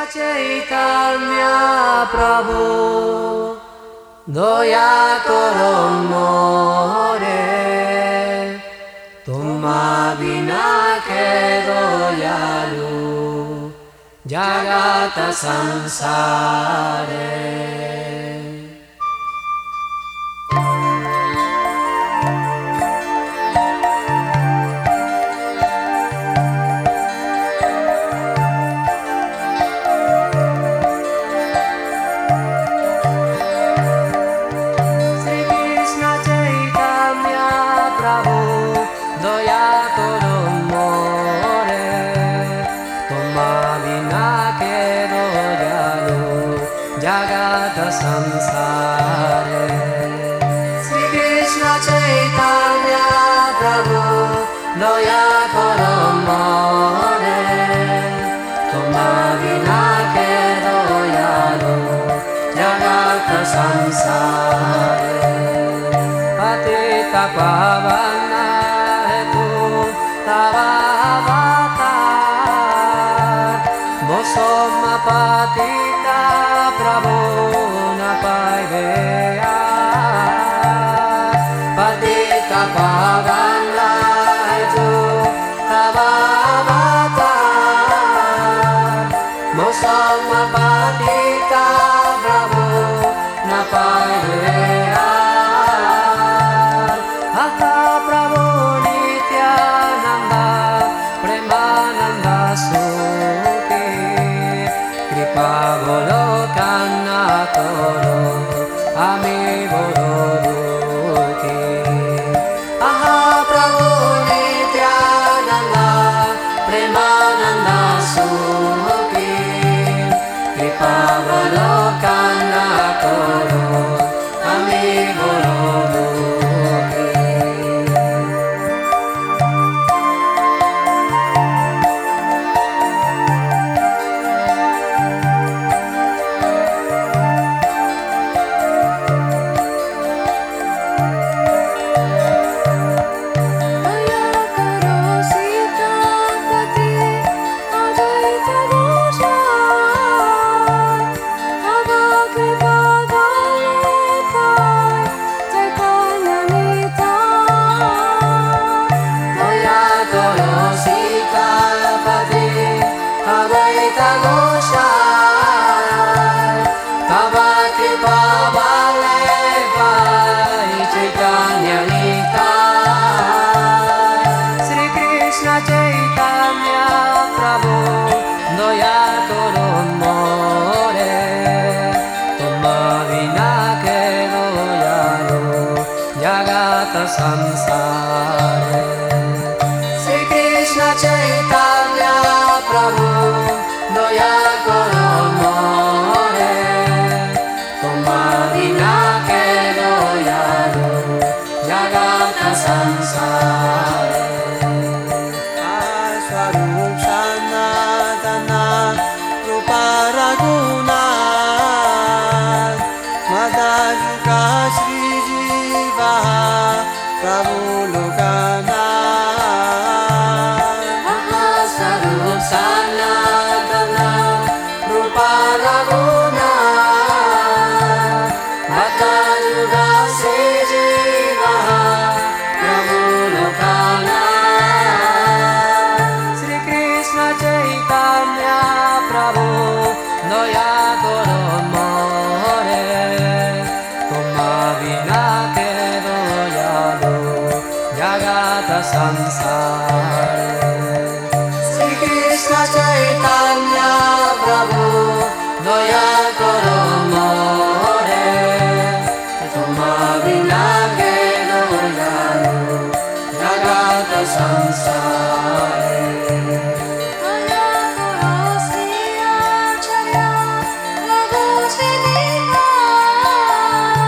Chaitanya Prabhu Doya karo more Tumma bina ke doyalu Jagata sansare Samsare Sri Krishna Chaitanya Prabhu Doya karo more Tumma bina ke doyalu Jagata samsare Patita pavana hetu tava avatar Bosoma patita Prabhu Patita pavana hetu tava avatar Mosama patita Prabhu napaideya Atha Prabhu Nityananda Premananda Sukhi Kripa Golokana Toro Ami Boro Dukhi Aha Prabhu Nityananda Premananda Sukhi Kripa Golokana Toro Ami Boro Dukhi Samsare Sri Krishna Chaitanya Prabhu Doya karo more Tumma bina ke doyalu Jagata sansare Swarup Sanatana Rupa Raguna Madhajuka Sri Jiva Prabhu Lokana Mahasarup Sanatana Rupa Raguna Bhakta Juga Se Jiva Prabhu Lokana Sri Krishna Chaitanya Prabhu Doya karo more Tumma bina ke Jagata Samsare Sri Krishna Chaitanya Prabhu Doya karo more Tumma bina ke doyalu Jagata Samsare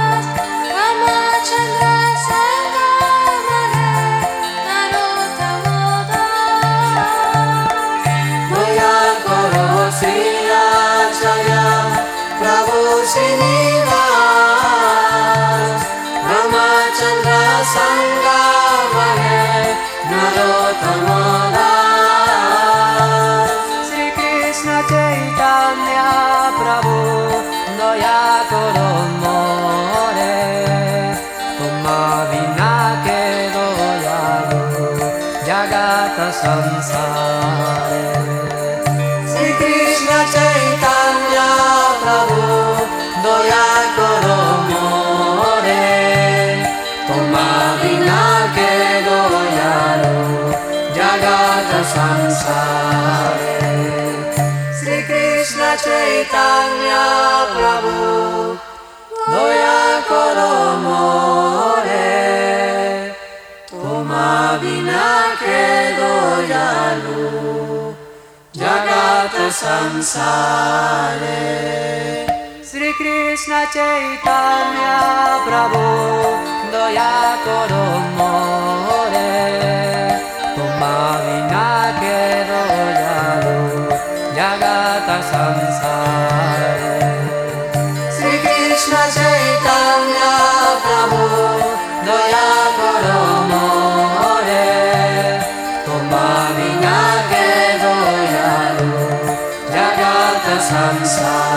Ramachandra Sangamare Narottama Krishna Chaitanya Prabhu Daya Karo More Tuma Vina Ke Doyalu Jagata Sansare Sri Krishna Chaitanya Prabhu Daya Karo More Tuma Vina Ke Doyalu Jagata Sansare Sri Krishna Chaitanya Prabhu Daya Karo More Tuma Vina Ke Doyalu Jagata Sansare Sri Krishna Chaitanya Prabhu Daya Karo More Tuma Vina Ke Doyalu Jagata Sansare Sri Krishna Chaitanya Prabhu Daya Karo More Tuma Vina Ke Doyalu Jagata Sansare